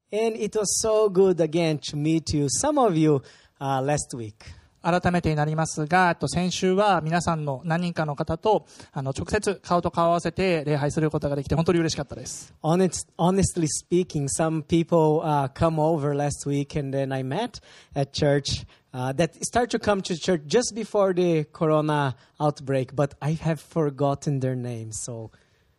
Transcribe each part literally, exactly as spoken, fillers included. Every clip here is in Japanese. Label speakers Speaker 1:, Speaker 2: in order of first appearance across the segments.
Speaker 1: And it was so good again to meet you, some of you, uh, last week.
Speaker 2: 改めてになりますが、先週は皆さんの何人かの方とあの直接顔と顔を合わせて礼拝することができて本当に嬉しかったです。
Speaker 1: Honest, honestly speaking, some people uh, come over last week and then I met at church uh, that start to come to church just before the corona outbreak, but I have forgotten their names, so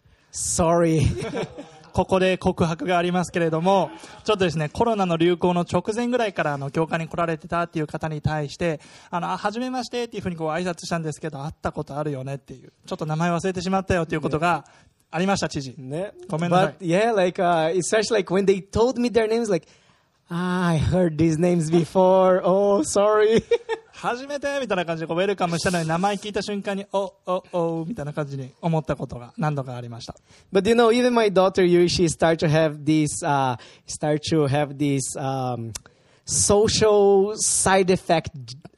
Speaker 1: sorry.
Speaker 2: ここで告白がありますけれども、ちょっとですね、コロナの流行の直前ぐらいからあの教会に来られてたっていう方に対して、あの、はじめましてっていうふうにこう挨拶したんですけど、会ったことあるよねっていう、ちょっと名前忘れてしまったよっていうことがありました、知事。
Speaker 1: ね、
Speaker 2: ごめんなさい。
Speaker 1: But yeah, like, uh, especially like when they told me their names, like, ah, I heard these names before, oh, sorry.
Speaker 2: 初めてみたいな感じでこうウェルカムしたのに名前聞いた瞬間におおおみたいな感じに思ったことが何度かありました。
Speaker 1: But you know, even my daughter Yuri, she start to have this, uh, start to have this um, social side effect,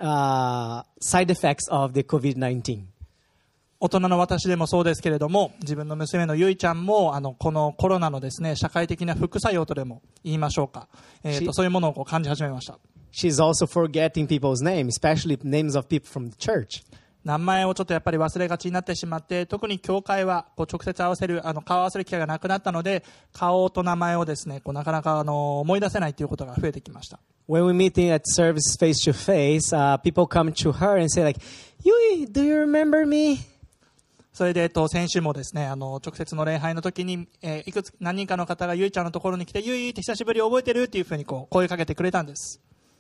Speaker 1: uh, side effects of the COVID nineteen.
Speaker 2: 大人の私でもそうですけれども、自分の娘のゆいちゃんもあのこのコロナのですね社会的な副作用とでも言いましょうか、えー、とそういうものをこう感じ始めました。
Speaker 1: She's also forgetting people's names, especially names of people from the church.
Speaker 2: 名前をちょっとやっぱり忘れがちになってしまって、特に教会はこう直接合わせるあの顔を合わせる機会がなくなったので、顔と名前をですねこうなかなかあの思い出せないということが増えてきました。
Speaker 1: When we meet at service face to face, uh, people come to her and say like, "Yui, do you remember me?"
Speaker 2: それで、えっと、先週もですね、あの、直接の礼拝の時に、えー、いくつ、何人かの方がゆいちゃんのところに来て、ゆいって久しぶり覚えてるっていうふうにこう、声かけてくれたんです。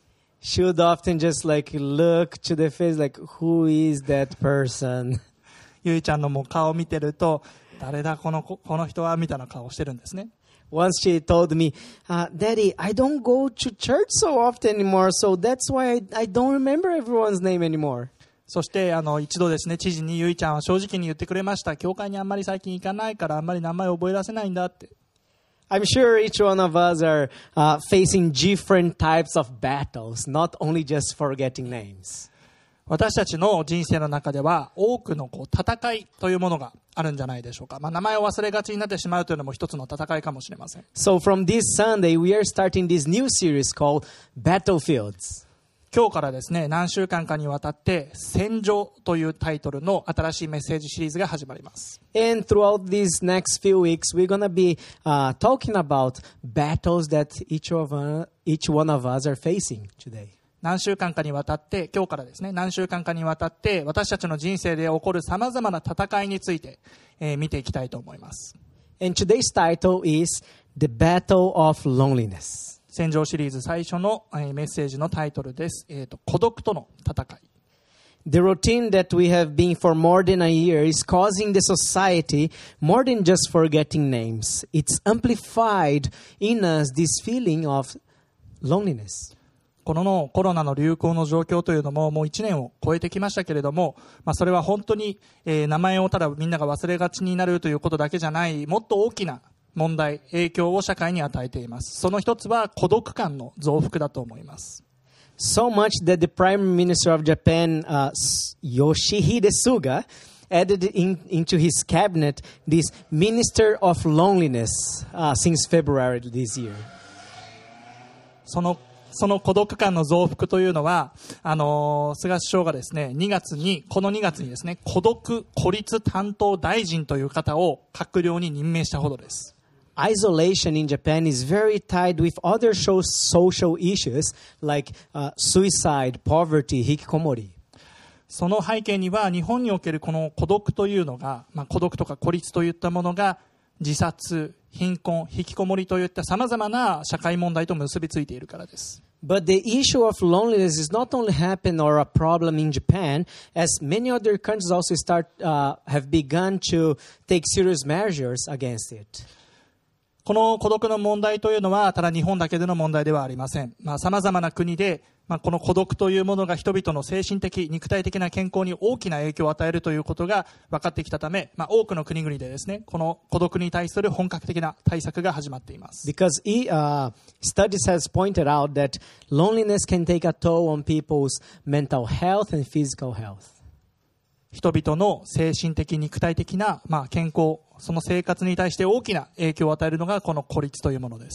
Speaker 1: She would often just like look to the face like, who is that person?
Speaker 2: ゆいちゃんのもう顔を見てると、誰だこの、この人はみたいな顔をしてるんですね。
Speaker 1: Once she told me, uh, Daddy, I don't go to church so often anymore, so that's why I, I don't remember everyone's name anymore.
Speaker 2: そしてあの一度ですね、知事にゆいちゃんは正直に言ってくれました。教会にあんまり最近行かないからあんまり名前を覚え出せないんだって。
Speaker 1: I'm sure each one of us are、uh, facing different types of battles, not only just forgetting names.
Speaker 2: 私たちの人生の中では多くのこう戦いというものがあるんじゃないでしょうか。まあ、名前を忘れがちになってしまうというのも一つの戦いかもしれません。
Speaker 1: So from this Sunday, we are starting this new series called Battlefields.
Speaker 2: 今日からですね、何週間かにわたって戦場というタイトルの新しいメッセージシリーズが始まります。
Speaker 1: And throughout these next few weeks, we're going to be、uh, talking about battles that each of, uh, each one of us are facing today.
Speaker 2: 何週間かにわたって、今日からですね、何週間かにわたって私たちの人生で起こる様々な戦いについて、えー、見ていきたいと思います。
Speaker 1: And today's title is The Battle of Loneliness.
Speaker 2: 戦場シリーズ最初のメッセージのタイトルです。えーと、孤独との戦い。
Speaker 1: The routine that we have been for more than a year is causing the society more than just forgetting names. It's amplified in us this feeling of loneliness.
Speaker 2: このコロナの流行の状況というのももういちねんを超えてきましたけれども、まあ、それは本当に、えー、名前をただみんなが忘れがちになるということだけじゃない、もっと大きな問題、影響を社会に与えています。その一つは孤独感の増幅だと思います。
Speaker 1: So much that the Prime Minister of Japan,、uh, Yoshihide Suga, added in, into his cabinet this Minister of Loneliness、uh, since February this year.
Speaker 2: そのその孤独感の増幅というのは、あのー、菅首相がですね、にがつに、このにがつにですね、孤独・孤立担当大臣という方を閣僚に任命したほどです。
Speaker 1: Isolation in Japan is very tied with other social issues like、uh, suicide, poverty, hikikomori.
Speaker 2: その背景には日本におけるこの孤独というのが、まあ、孤独とか孤立といったものが自殺、貧困、引きこもりといったさまざまな社会問題と結びついているからです。
Speaker 1: But the issue of loneliness is not only happen or a problem in Japan, as many other countries also start、uh, have begun to take serious measures against it.
Speaker 2: この孤独の問題というのはただ日本だけでの問題ではありません。まあ、様々な国で、まあ、この孤独というものが人々の精神的、肉体的な健康に大きな影響を与えるということが分かってきたため、まあ、多くの国々でですね、この孤独に対する本格的な対策が始まっています。
Speaker 1: Because uh, studies has pointed out that loneliness can take a toll on people's mental health and physical health.
Speaker 2: 人々の精神的、肉体的な、まあ、健康、その生活に対して大きな影響を与えるのがこの孤立というものです。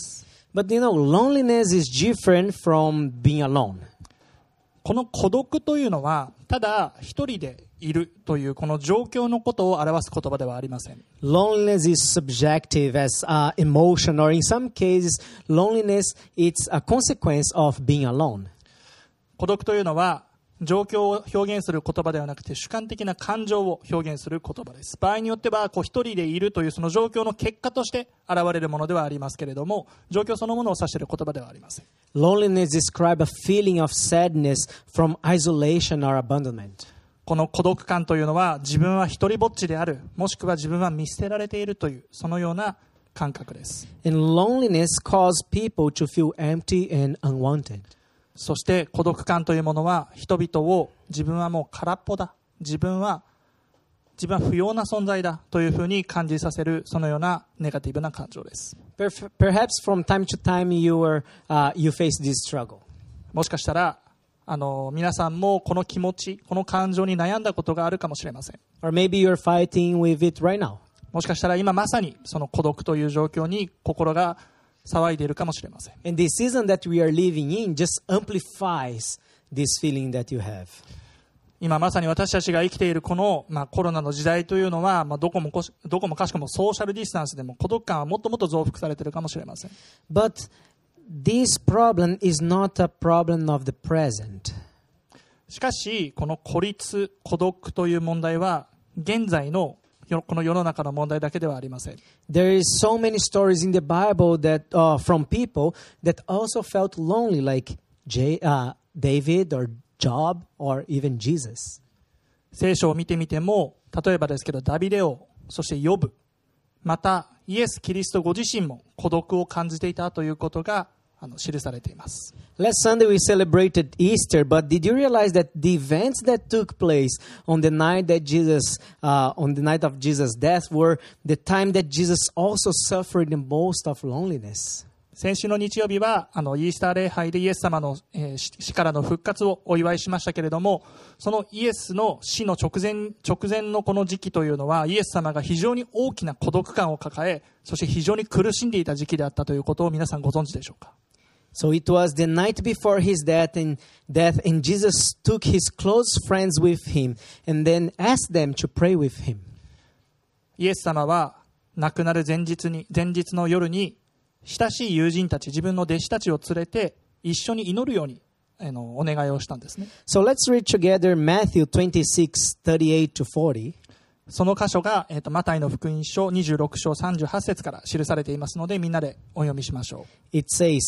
Speaker 1: But you know, loneliness is different from being alone.
Speaker 2: この孤独というのはただ一人でいるというこの状況のことを表す言葉ではありません。
Speaker 1: Loneliness is subjective as uh, emotion, or in some cases, loneliness it's a consequence of being alone.
Speaker 2: 孤独というのは状況を表現する言葉ではなくて主観的な感情を表現する言葉です。場合によってはこう一人でいるというその状況の結果として現れるものではありますけれども、状況そのものを指している言葉ではありません。
Speaker 1: Loneliness describes a feeling of sadness from isolation or abandonment.
Speaker 2: この孤独感というのは自分は一人ぼっちである、もしくは自分は見捨てられているというそのような感覚です。
Speaker 1: And loneliness causes people to feel empty and unwanted.
Speaker 2: そして孤独感というものは人々を自分はもう空っぽだ、自分は自分は不要な存在だというふうに感じさせるそのようなネガティブな感情です。
Speaker 1: Perhaps from time to time you, are, uh, you face this struggle.
Speaker 2: もしかしたらあの皆さんもこの気持ち、この感情に悩んだことがあるかもしれません。
Speaker 1: Or maybe you're fighting with it right now.
Speaker 2: もしかしたら今まさにその孤独という状況に心が騒いでいるかもしれません。
Speaker 1: And the season that we are living in just amplifies this feeling that you have.
Speaker 2: 今まさに私たちが生きているこの、まあ、コロナの時代というのは、まあ、どこもこし、どこもかしこもソーシャルディスタンスでも孤独感はもっともっと増幅されているかもしれません。
Speaker 1: But this problem is not a problem of the present.
Speaker 2: しかしこの孤立、孤独という問題は現在のこの世の中の問題だけではありません。
Speaker 1: There is so many stories in the Bible that uh, from people that also felt lonely, like J, uh, David or Job or even Jesus.
Speaker 2: 聖書を見てみても、例えばですけどダビデ王、そしてヨブ、またイエス・キリストご自身も孤独を感じていたということがあの記されています。
Speaker 1: Last Sunday we celebrated Easter, but did you realize that the events that took place on the night that Jesus, uh, on the night of Jesus' death, were the time that Jesus also suffered the most of loneliness?
Speaker 2: 先週の日曜日はあのイースター礼拝でイエス様の、えー、死からの復活をお祝いしましたけれども、そのイエスの死の直前、直前のこの時期というのはイエス様が非常に大きな孤独感を抱え、そして非常に苦しんでいた時期であったということを皆さんご存知でしょうか。
Speaker 1: So it was the night before his death, and death, and Jesus took his close friends with him and then asked them to pray with him.
Speaker 2: イエス様は亡くなる前日に、前日の夜に親しい友人たち、自分の弟子たちを連れて一緒に祈るようにあのお願いをしたんですね。
Speaker 1: So let's read together Matthew twenty-six, thirty-eight to forty.
Speaker 2: その箇所が、えーと、マタイの福音書にじゅうろく章さんじゅうはち節から記されていますので、みんなでお読みしましょう。
Speaker 1: It says,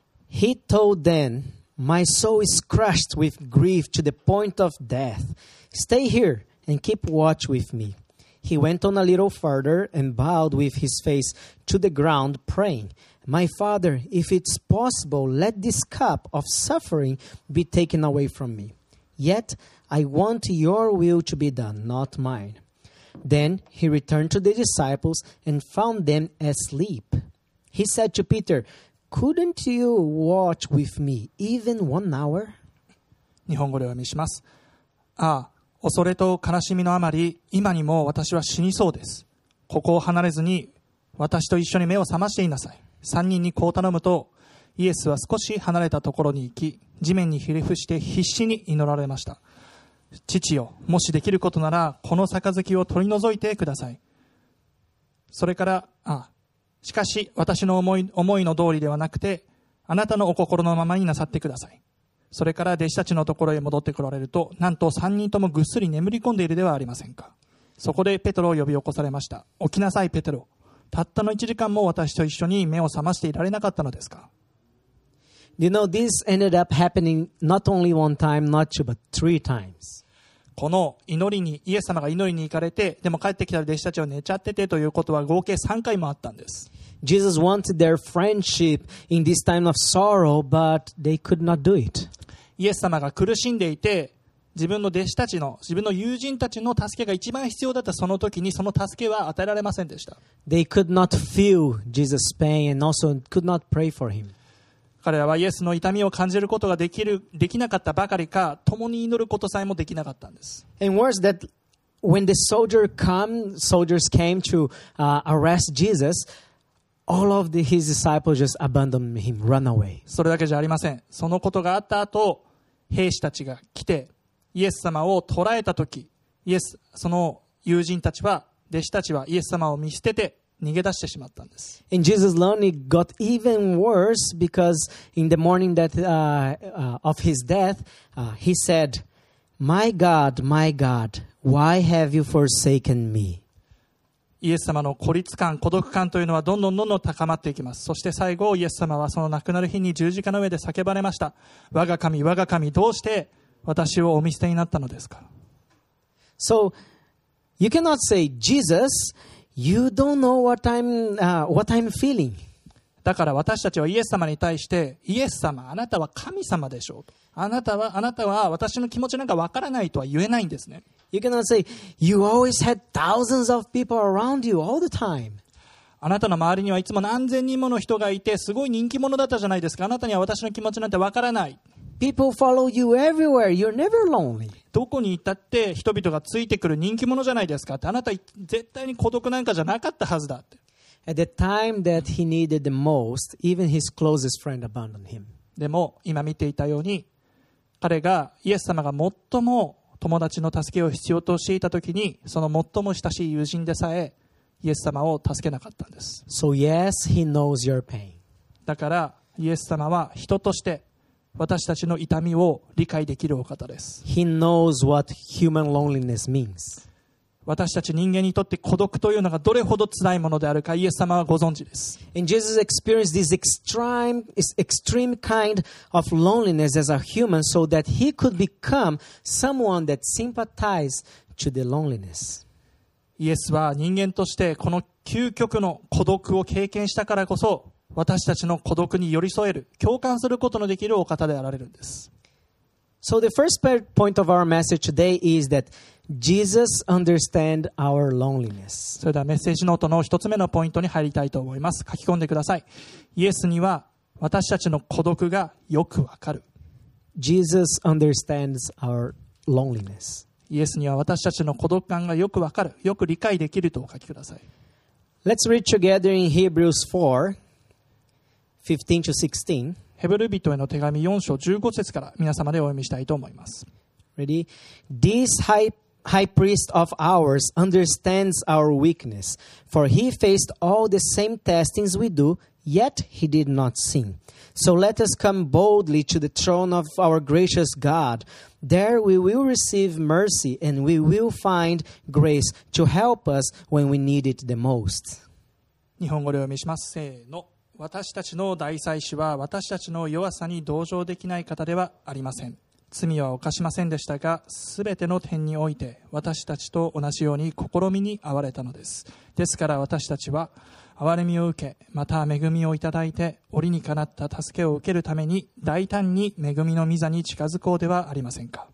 Speaker 1: He told them, My soul is crushed with grief to the point of death. Stay here and keep watch with me. He went on a little further and bowed with his face to the ground, praying, My Father, if it's possible, let this cup of suffering be taken away from me. Yet I want your will to be done, not mine. Then he returned to the disciples and found them asleep. He said to Peter,Couldn't you watch with me even one hour?
Speaker 2: 日本語でお読みします。ああ、恐れと悲しみのあまり、今にも私は死にそうです。ここを離れずに、私と一緒に目を覚ましていなさい。三人にこう頼むと、イエスは少し離れたところに行き、地面にひれ伏して必死に祈られました。父よ、もしできることなら、この杯を取り除いてください。それから、ああ、しかし私の思い、思いの通りではなくて、あなたのお心のままになさってください。それから弟子たちのところへ戻ってこられると、なんと三人ともぐっすり眠り込んでいるではありませんか。そこでペテロを呼び起こされました。起きなさいペテロ。たったの一時間も私と一緒に目を覚ましていられなかったのですか。
Speaker 1: You know, this ended up happening not only one time, not two, but three times.
Speaker 2: この祈りに、イエス様が祈りに行かれて、でも帰ってきたら弟子たちは寝ちゃっててということは合計さんかいもあったんです。
Speaker 1: Jesus wanted their friendship in this time of sorrow, but they could not do it.
Speaker 2: イエス様が苦しんでいて、自分の弟子たちの、自分の友人たちの助けが一番必要だったその時に、その助けは与えられませんでした。
Speaker 1: They could not feel Jesus' pain and also could not pray for him.
Speaker 2: 彼らはイエスの痛みを感じることができる、できなかったばかりか、共に祈ることさえもできなかったんです。
Speaker 1: And worse that when the soldier come, soldiers came to uh, arrest Jesus, all of the, his disciples just abandoned him, run away.
Speaker 2: それだけじゃありません。そのことがあった後、兵士たちが来て、イエス様を捕らえたとき、イエス、その友人たちは、弟子たちはイエス様を見捨てて逃げ出してしまったんです。
Speaker 1: And Jesus' lonely got even worse because in the morning that uh, uh, of his death, uh, he said, "My God, my God, why have you forsaken me?"
Speaker 2: イエス様の孤立感、孤独感というのはどんどんどんどん高まっていきます。そして最後、イエス様はその亡くなる日に十字架の上で叫ばれました。我が神、我が神、どうして私をお見捨てになったのですか？
Speaker 1: So you cannot say, Jesus, you don't know what I'm, uh, what I'm feeling.
Speaker 2: だから私たちはイエス様に対して、イエス様、あなたは神様でしょうと。あなたは、あなたは私の気持ちなんかわからないとは言えないんですね。
Speaker 1: You cannot say, you always had thousands of people around you all the time.
Speaker 2: あなたの周りにはいつも何千人もの人がいて、すごい人気者だったじゃないですか。あなたには私の気持ちなんてわからない。
Speaker 1: People follow you everywhere. You're never lonely.
Speaker 2: どこに行ったって人々がついてくる人気者じゃないですかって。あなた絶対に孤独なんかじゃなかったはずだって。
Speaker 1: At the time that he needed the most, even his closest friend abandoned him.
Speaker 2: でも今見ていたように、彼がイエス様が最も友達の助けを必要としていたときに、その最も親しい友人でさえイエス様を助けなかったんです。
Speaker 1: So yes, he knows your pain.
Speaker 2: だからイエス様は人として私たちの痛みを理解できるお方です。
Speaker 1: He knows what human loneliness means.
Speaker 2: 私たち人間にとって孤独というのがどれほど辛いものであるかイエス様はご存知です。
Speaker 1: And Jesus experienced this extreme, extreme kind of loneliness as a human so that he could become someone that sympathized to the loneliness.
Speaker 2: イエスは人間としてこの究極の孤独を経験したからこそ、私たちの孤独に寄り添える、共感することのできるお方であられるんです。
Speaker 1: So the first point of our message today is that Jesus understands our loneliness.
Speaker 2: それではメッセージノートの一つ目のポイントに入りたいと思います。書き込んでください。イエスには私たちの孤独がよくわかる。
Speaker 1: Jesus understands our loneliness.
Speaker 2: イエスには私たちの孤独感がよくわかる、よく理解できるとお書きください。
Speaker 1: Let's read together in Hebrews four, fifteen to sixteen.
Speaker 2: ヘブル人への手紙よん章じゅうご節から皆様でお読みしたいと思います。
Speaker 1: Ready? This high, high priest of ours understands our weakness, for he faced all the same testings we do, yet he did not sin. So let us come boldly to the throne of our gracious God. There we will receive mercy and we will find grace to help us when we need it the most.
Speaker 2: 日本語でお読みします。せーの。私たちの大祭司は私たちの弱さに同情できない方ではありません。罪は犯しませんでしたが、すべての点において私たちと同じように試みに遭われたのです。ですから私たちは憐れみを受け、また恵みをいただいて、折にかなった助けを受けるために大胆に恵みの御座に近づこうではありませんか。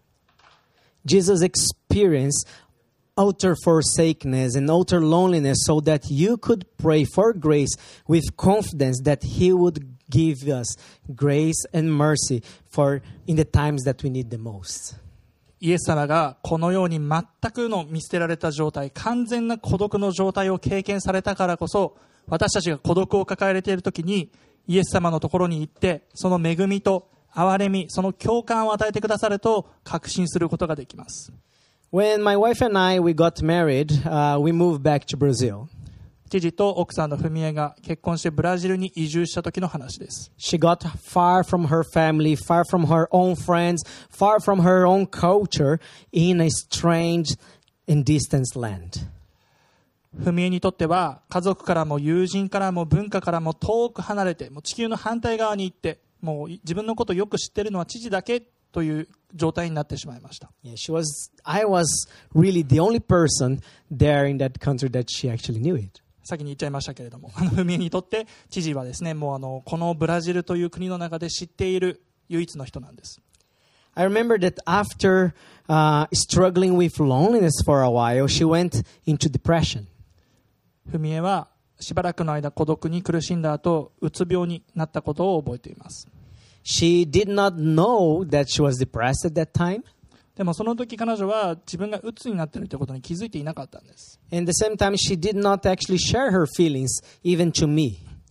Speaker 1: Jesus experienced utter forsakenness and utter loneliness so that you could pray for grace with confidence that he would give us grace and mercy for in the times that we need the most.
Speaker 2: イエス様がこのように全くの見捨てられた状態、完全な孤独の状態を経験されたからこそ、私たちが孤独を抱えれているときにイエス様のところに行って、その恵みと憐れみ、その共感を与えてくださると確信することができます。
Speaker 1: When my wife and I we got married, uh, we moved back to Brazil.
Speaker 2: 父と奥さんの文江が結婚してブラジルに移住した時の話です。
Speaker 1: She got far from her family, far from her own friends, far from her own culture in a strange and distant land.
Speaker 2: 文江にとっては家族からも友人からも文化からも遠く離れて、もう地球の反対側に行って、もう自分のことをよく知っているのは父だけという状態になってしまいました。
Speaker 1: Yeah, she was, I was really the only person there in that country that she actually knew it.
Speaker 2: 先に言っちゃいましたけれども、あの文江にとって知事はですね、もうあのこのブラジルという国の中で知っている唯一の人なんです。
Speaker 1: I remember that after uh, struggling with loneliness for a while, she went into depression.
Speaker 2: 文江はしばらくの間孤独に苦しんだ後、うつ病になったことを覚えています。
Speaker 1: She did not know that she was depressed at that time.
Speaker 2: でもその時彼女は自分がうつになっているということに気づいていなかったんです。
Speaker 1: And at the same time, she did not actually share her feelings even to me.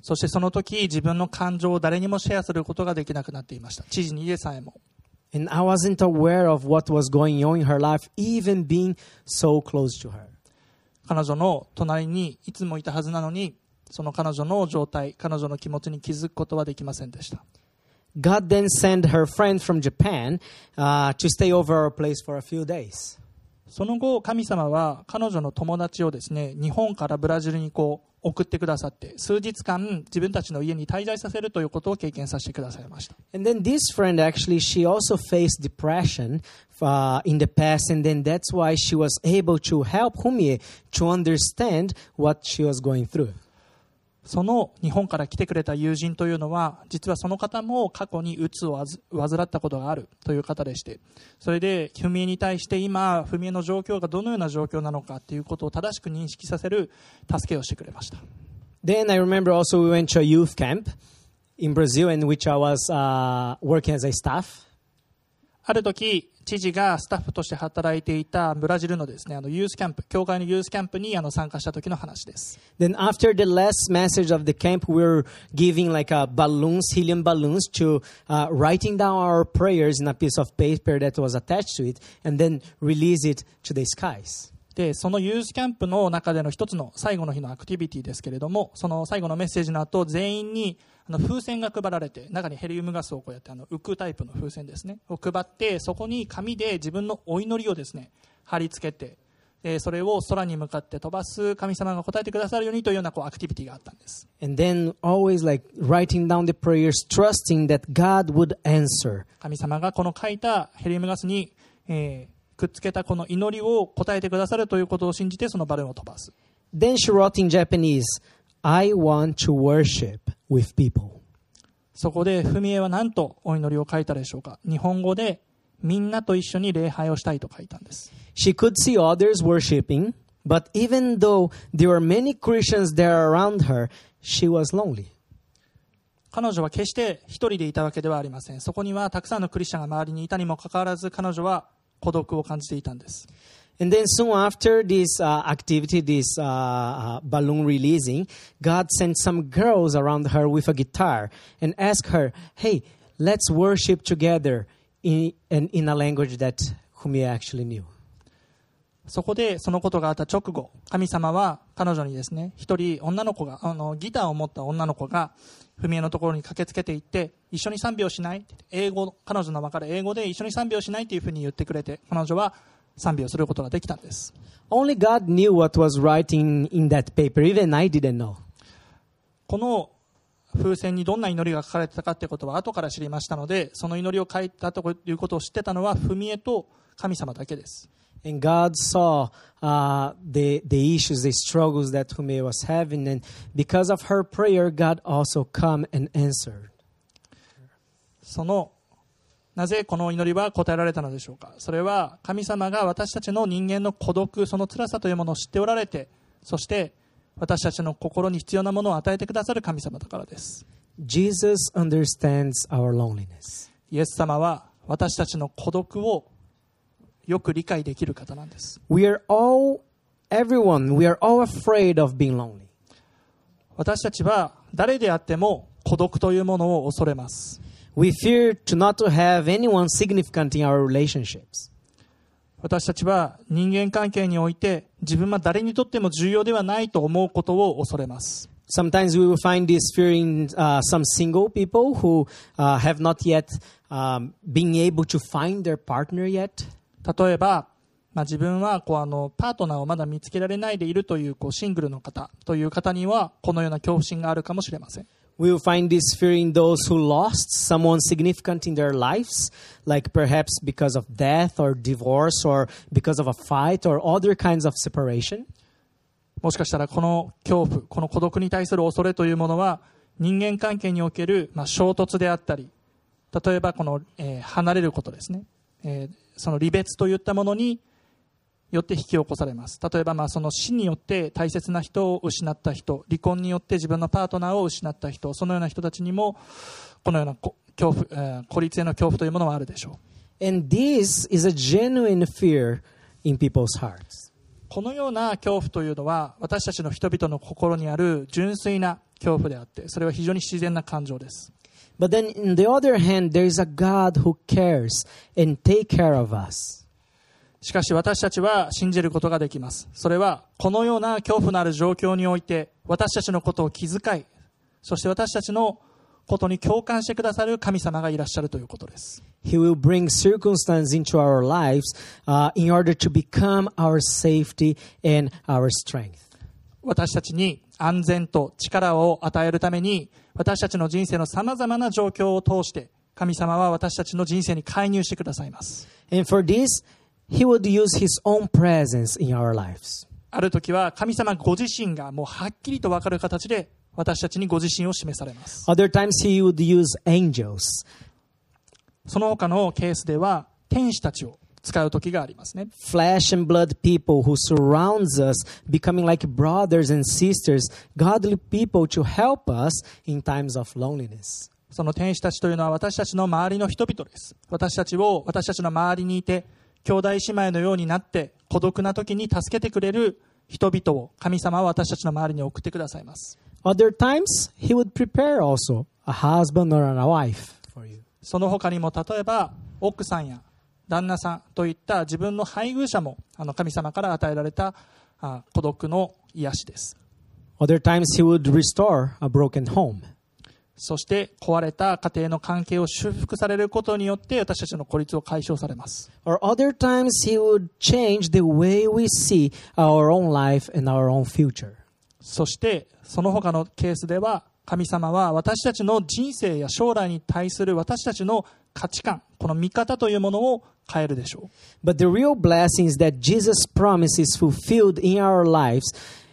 Speaker 2: そしてその時自分の感情を誰にもシェアすることができなくなっていました。知事にでさえも。
Speaker 1: And I wasn't aware of what was going on in her life, even being so close to her.
Speaker 2: 彼女の隣にいつもいたはずなのに、その彼女の状態、彼女の気持ちに気づくことはできませんでした。
Speaker 1: God then sent her friend from Japan uh, to stay over our place for a few days.
Speaker 2: その後、神様は彼女の友達をですね、日本からブラジルにこう送ってくださって、数日間自分たちの家に滞在させるということを経験させてくださいました。
Speaker 1: And then this friend actually, she also faced depression uh, in the past, and then that's why she was able to help Humie to understand what she was going through.
Speaker 2: その日本から来てくれた友人というのは、実はその方も過去にうつを患ったことがあるという方でして、それでフミエに対して今フミエの状況がどのような状況なのかということを正しく認識させる助けをしてくれました。
Speaker 1: Then I remember also we went to a youth camp in Brazil in which I was uh, working as a staff.
Speaker 2: ある時、知事がスタッフとして働いていたブラジルのですね、あのユースキャンプ、教会のユースキャンプにあの参加した時の話です。
Speaker 1: Then after the last message of the camp, we were giving like a balloons, helium balloons, to uh, writing down our prayers in a piece of paper that was attached to it, and then release it to the skies.
Speaker 2: で、そのユースキャンプの中での一つの最後の日のアクティビティですけれども、その最後のメッセージの後、全員にあの風船が配られて、中にヘリウムガスをこうやってあの浮くタイプの風船ですねを配って、そこに紙で自分のお祈りをですね貼り付けて、でそれを空に向かって飛ばす、神様が答えてくださるようにというようなこうアクティビティがあったんです。
Speaker 1: And then always like writing down the prayers, trusting that God would answer.
Speaker 2: 神様がこの書いたヘリウムガスに、えーくっつけたこの祈りを答えてくださるということを信じて、そのバルーンを飛ばす。
Speaker 1: Then she wrote in Japanese, I want to worship with people.
Speaker 2: そこでフミエは何とお祈りを書いたでしょうか。日本語でみんなと一緒に礼拝をしたいと書いたんです。
Speaker 1: She could see others worshiping, but even though there were many Christians there around her, she was lonely.
Speaker 2: 彼女は決して一人でいたわけではありません。そこにはたくさんのクリスチャンが周りにいたにもかかわらず、彼女は孤独を感じていたんです。
Speaker 1: And then soon after this uh, activity, this uh, uh, balloon releasing, God sent some girls around her with a guitar and asked her, hey, let's worship together in, in, in a language that Humie actually knew.
Speaker 2: そこでそのことがあった直後、神様は彼女にですね、一人女の子が、あのギターを持った女の子がフミエのところに駆けつけていって、一緒に賛美をしないって英語、彼女の分かる英語で一緒に賛美をしないというふうに言ってくれて、彼女は賛美をすることができたんです。
Speaker 1: Only God knew what was writing in that paper. Even I didn't know.
Speaker 2: この風船にどんな祈りが書かれてたかということは後から知りましたので、その祈りを書いたということを知ってたのはフミエと神様だけです。
Speaker 1: And God saw uh, the, the issues, the struggles that Humie was having. And because of her prayer, God also come and answered.
Speaker 2: そのなぜこの祈りは答えられたのでしょうか。それは神様が私たちの人間の孤独、その辛さというものを知っておられて、そして私たちの心に必要なものを与えてくださる神様だからです。
Speaker 1: Jesus understands our loneliness.
Speaker 2: イエス様は私たちの孤独をよく理解できる方なんです。
Speaker 1: We are all, everyone, we are all afraid of being lonely.
Speaker 2: 私たちは誰であっても孤独というものを恐れます。
Speaker 1: We fear to not to have anyone significant in our relationships.
Speaker 2: 私たちは人間関係において自分は誰にとっても重要ではないと思うことを恐れます。
Speaker 1: Sometimes we will find this fear in uh, some single people who uh, have not yet um, been able to find their partner yet.
Speaker 2: 例えば、まあ、自分はこうあのパートナーをまだ見つけられないでいるという、こうシングルの方という方にはこのような恐怖心があるかもしれません。
Speaker 1: We will find this fear in those who lost someone significant in their lives, like perhaps because of death or divorce or because of a fight or other kinds of separation.
Speaker 2: もしかしたらこの恐怖、この孤独に対する恐れというものは人間関係における、まあ、衝突であったり、例えばこの、えー、離れることですね、えー、その離別といったものによって引き起こされます。例えばまあその死によって大切な人を失った人、離婚によって自分のパートナーを失った人、そのような人たちにもこのような恐怖、えー、孤立への恐怖というものはあるでしょう。
Speaker 1: And this is a genuine fear in people's hearts.
Speaker 2: このような恐怖というのは私たちの人々の心にある純粋な恐怖であって、それは非常に自然な感情です。
Speaker 1: But then, on the other hand, there is a God who cares and take care of us.
Speaker 2: しかし私たちは信じることができます。それはこのような恐怖のある状況において私たちのことを気遣い、そして私たちのことに共感してくださる神様がいらっしゃるということです。
Speaker 1: He will bring circumstances into our lives uh, in order to become our safety and our strength.
Speaker 2: 私たちに安全と力を与えるために、私たちの人生のさまざまな状況を通して神様は私たちの人生に介入してくださいます。
Speaker 1: And for this, He would use His own presence in our lives.
Speaker 2: ある時は神様ご自身がもうはっきりと分かる形で私たちにご自身を示されます。
Speaker 1: Other times He would use angels.
Speaker 2: その他のケースでは天使たちを使う時がありますね。
Speaker 1: Flesh and blood people who surrounds us, becoming like brothers and sisters, godly people to help us in times of loneliness.
Speaker 2: その天使たちというのは私たちの周りの人々です。私たちを私たちの周りにいて兄弟姉妹のようになって孤独な時に助けてくれる人々を神様は私たちの周りに送ってくださいます。
Speaker 1: Other times He would prepare also a husband or a wife for you.
Speaker 2: その他にも例えば奥さんや旦那さんといった自分の配偶者もあの神様から与えられたあ孤独の癒しです。
Speaker 1: Other times He would restore a broken home.
Speaker 2: そして壊れた家庭の関係を修復されることによって私たちの孤立を解消されます。
Speaker 1: Or other times He would change the way we see our own life and our own future.
Speaker 2: そしてその他のケースでは神様は私たちの人生や将来に対する私たちの価値観、この見方というものを変えるでしょう。
Speaker 1: But the real blessing is that Jesus' promise is fulfilled in our lives.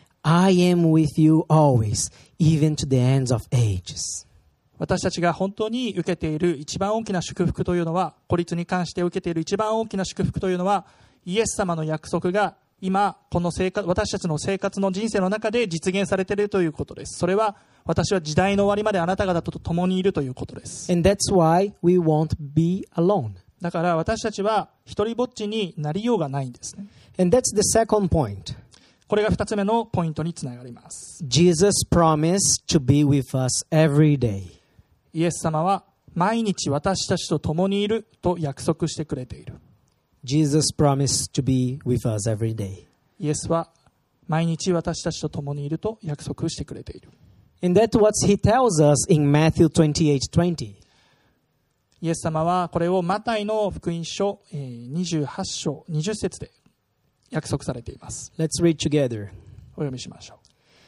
Speaker 1: I am with you always, even to the ends of ages.
Speaker 2: 私たちが本当に受けている一番大きな祝福というのは、孤立に関して受けている一番大きな祝福というのは、イエス様の約束が今この生活、私たちの生活の人生の中で実現されているということです。それは私は時代の終わりまであなた方と共にいるということです。
Speaker 1: And that's why we won't be alone.
Speaker 2: だから私たちは一人ぼっちになりようがないんですね。
Speaker 1: And that's the second point.
Speaker 2: これが二つ目のポイントにつながります。
Speaker 1: Jesus promised to be with us every day.
Speaker 2: イエス様は毎日私たちと共にいると約束してくれている。
Speaker 1: Jesus promised to be with us every day.
Speaker 2: イエスは毎日私たちと共にいると約束してくれている。
Speaker 1: And that's what He tells us in Matthew twenty-eight twenty.
Speaker 2: イエス様はこれをマタイの福音書にじゅうはち章にじゅっ節で約束されています。
Speaker 1: Let's read together.
Speaker 2: お読みしましょう。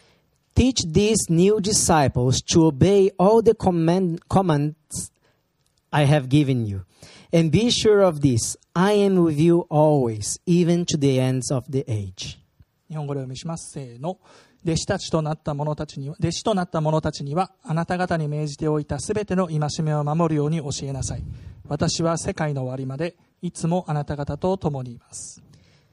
Speaker 1: Teach these new disciples to obey all the command, commands I have given you. And be sure of this, I am with you always, even to the ends of the age.
Speaker 2: 日本語でお読みします。せーの。弟子たちとなった者たちには、弟子となった者たちには、あなた方に命じておいたすべての戒めを守るように教えなさい。私は世界の終わりまでいつもあなた方と共にいます。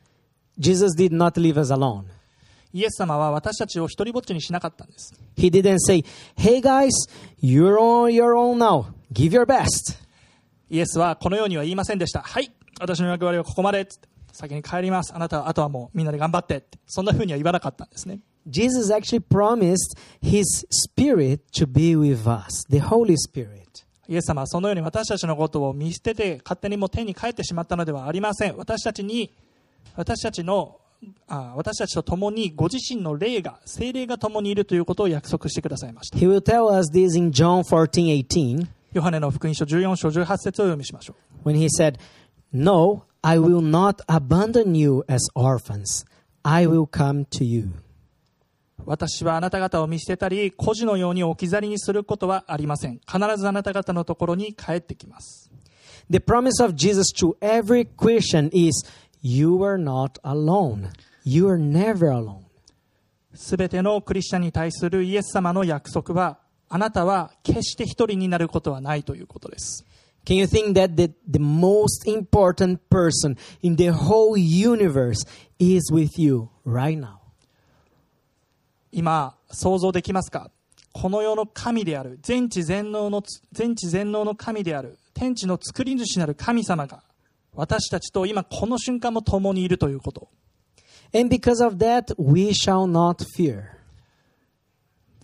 Speaker 1: Jesus did not leave us alone.
Speaker 2: イエス様は私たちを一人ぼっちにしなかったんです。
Speaker 1: He didn't say, hey guys, you're on your own now. Give your best.
Speaker 2: イエスはこのようには言いませんでした。はい、私の役割はここまで。つって先に帰ります。あなたはあとはもうみんなで頑張ってって。そんな風には言わなかったんですね。
Speaker 1: Jesus actually promised His Spirit to be with us, the Holy Spirit.
Speaker 2: イエス様はそのように私たちのことを見捨てて勝手にもう天に帰ってしまったのではありません。私たちに、私たちのあ私たちと共にご自身の霊が、聖霊が共にいるということを約束してくださいました。
Speaker 1: He will tell us this in John fourteen eighteen.
Speaker 2: ヨハネの福音書じゅうよん章じゅうはち節を読みしましょう。
Speaker 1: When He said, No, I will not abandon you as orphans. I will come to you.
Speaker 2: 私はあなた方を見捨てたり孤児のように置き去りにすることはありません。必ずあなた方のところに帰ってきます。
Speaker 1: The promise of Jesus to every Christian is, You are not alone. You are never alone.
Speaker 2: すべてのクリスチャンに対するイエス様の約束は、あなたは決して一人になることはないということです。
Speaker 1: Can you think that the, the most important person in the whole universe is with you right now?
Speaker 2: 今想像できますか？この世の神である、全知全能の全知全能の神である、天地の作り主なる神様が私たちと今この瞬間も共にいるということ。
Speaker 1: And because of that, we shall not fear.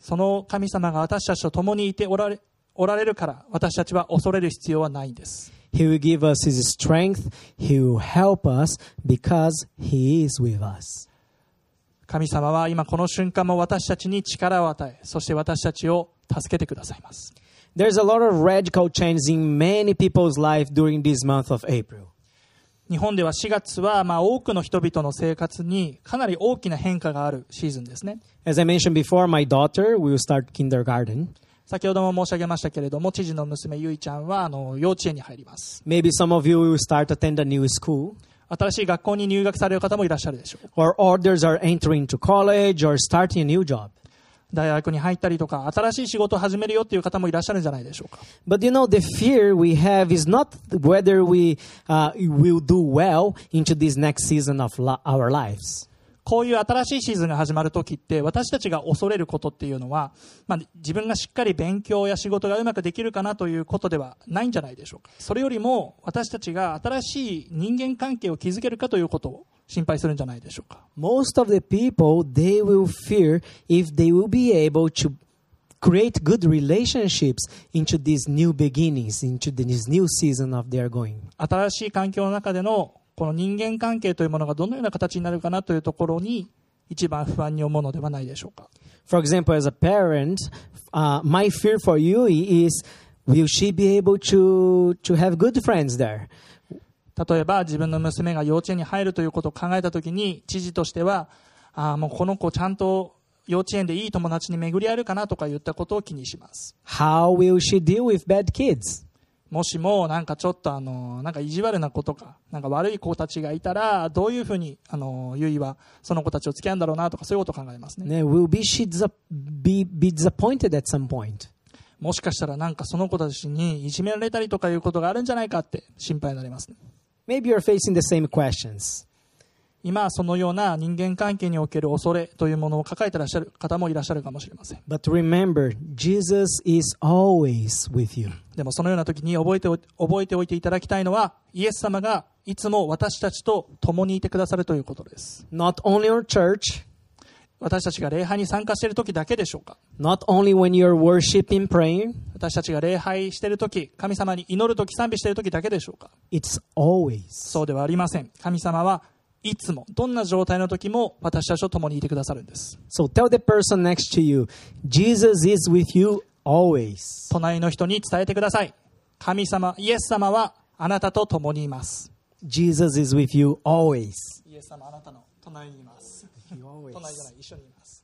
Speaker 2: その神様が私たちと共にいておられ、おられるから私たちは恐れる必要はないんです。
Speaker 1: He will give us His strength. He will help us because He is with us.
Speaker 2: 神様は今この瞬間も私たちに力を与え、そして私たちを助けてくださいます。
Speaker 1: There's a lot of radical changes in many people's life during this month of April.
Speaker 2: 日本ではしがつはまあ多くの人々の生活にかなり大きな変化があるシーズンですね。
Speaker 1: As I mentioned before, my daughter will start kindergarten.
Speaker 2: 先ほども申し上げましたけれども、知事の娘ゆいちゃんはあの幼稚園に入ります。
Speaker 1: Maybe some of you will start to attend a new school.
Speaker 2: 新しい学校に入学される方もいらっしゃるでしょう。
Speaker 1: Or others are entering to college or starting a new job.
Speaker 2: 大学に入ったりとか、新しい仕事を始めるよっていう方もいらっしゃるんじゃないでしょうか。
Speaker 1: But you know, the fear we have is not whether we uh, will do well into this next season of la- our lives.
Speaker 2: こういう新しいシーズンが始まるときって、私たちが恐れることっていうのは、まあ、自分がしっかり勉強や仕事がうまくできるかなということではないんじゃないでしょうか。それよりも、私たちが新しい人間関係を築けるかということを心配するんじゃないでしょうか。
Speaker 1: Most of the people, they will fear if they will be able to create good relationships into these new beginnings, into this new season of their going.
Speaker 2: 新しい環境の中でのこの人間関係というものがどのような形になるかなというところに一番不安に思うのではないでしょうか。
Speaker 1: For example, as a parent, uh, my fear for you is, will she be able to, to have good friends there?
Speaker 2: 例えば自分の娘が幼稚園に入るということを考えたときに、知事としては、ああ、もうこの子ちゃんと幼稚園でいい友達に巡り合えるかなとか言ったことを気にします。
Speaker 1: How will she deal with bad kids?
Speaker 2: もしもなんかちょっとあのなんか意地悪な子とかなんか悪い子たちがいたらどういうふうにあのゆいはその子たちを付き合うんだろうなとかそういうことを考えますね。
Speaker 1: Will be she be, be disappointed at some point?
Speaker 2: もしかしたらなんかその子たちにいじめられたりとかいうことがあるんじゃないかって心配になりますね。
Speaker 1: Maybe you're facing the same questions.
Speaker 2: 今そのような人間関係における恐れというものを抱えていらっしゃる方もいらっしゃるかもしれません。
Speaker 1: But remember, Jesus is always with you.
Speaker 2: でもそのような時に覚えてお、覚えておいていただきたいのは、イエス様がいつも私たちと共にいてくださるということです。
Speaker 1: Not only our church,
Speaker 2: 私たちが礼拝に参加している時だけでしょうか。
Speaker 1: not only when you're worshiping, praying,
Speaker 2: 私たちが礼拝している時、神様に祈る時、賛美している時だけでしょうか。
Speaker 1: it's always.
Speaker 2: そうではありません。神様はいつもどんな状態の時も私たちと共にいてくださるんです。
Speaker 1: So tell the person next to you, Jesus is with you always.
Speaker 2: 隣の人に伝えてください。神様、イエス様はあなたと共にいます。
Speaker 1: Jesus is with you always.
Speaker 2: イエス様あなたの隣にいます。隣じゃない、一緒にいます。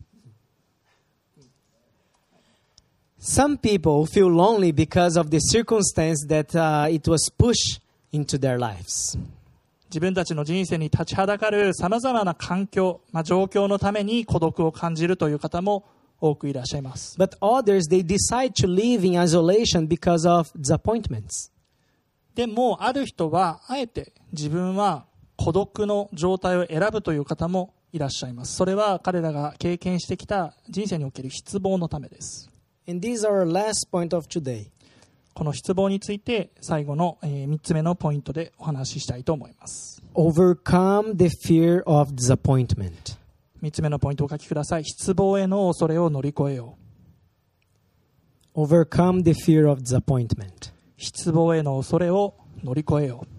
Speaker 1: Some people feel lonely because of the circumstance that uh, it was pushed into their lives.
Speaker 2: 自分たちの人生に立ちはだかるさまざまな環境、まあ、状況のために孤独を感じるという方も多くいらっしゃいます。
Speaker 1: But others, they decide to live in isolation because of disappointments.
Speaker 2: でもある人はあえて自分は孤独の状態を選ぶという方もいらっしゃいます。それは彼らが経験してきた人生における失望のためです。
Speaker 1: And these are our last point of today.
Speaker 2: この失望について最後のみっつめのポイントでお話ししたいと思います。
Speaker 1: Overcome the fear of disappointment.
Speaker 2: みっつめのポイントをお書きください。失望への恐れを乗り越えよう。
Speaker 1: Overcome the fear of disappointment.
Speaker 2: 失望への恐れを乗り越えよう。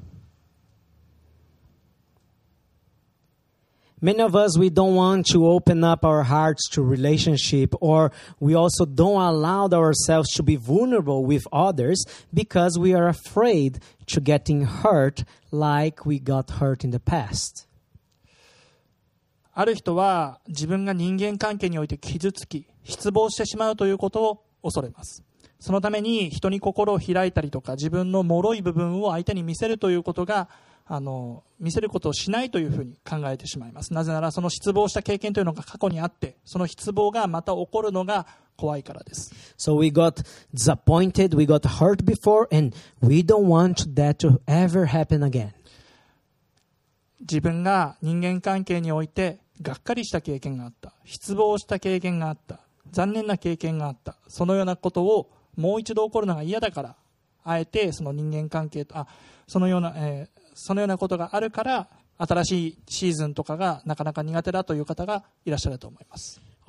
Speaker 1: Many of us, we don't want to open up our hearts to relationship, or we also don't allow ourselves to be vulnerable with others because we are afraid to getting hurt like we got hurt in the past.
Speaker 2: ある人は自分が人間関係において傷つき失望してしまうということを恐れます。そのために人に心を開いたりとか自分の脆い部分を相手に見せるということがあの見せることをしないというふうに考えてしまいます。なぜならその失望した経験というのが過去にあってその失望がまた起こるのが怖いからです。
Speaker 1: So we got disappointed, we got hurt before, and we don't want that to ever happen again.
Speaker 2: 自分が人間関係においてがっかりした経験があった、失望した経験があった、残念な経験があった、そのようなことをもう一度起こるのが嫌だからあえてその人間関係とあそのような、えー、そのようなことがあるから新しいシーズンとかがなかなか苦手だという方がいらっしゃると思います。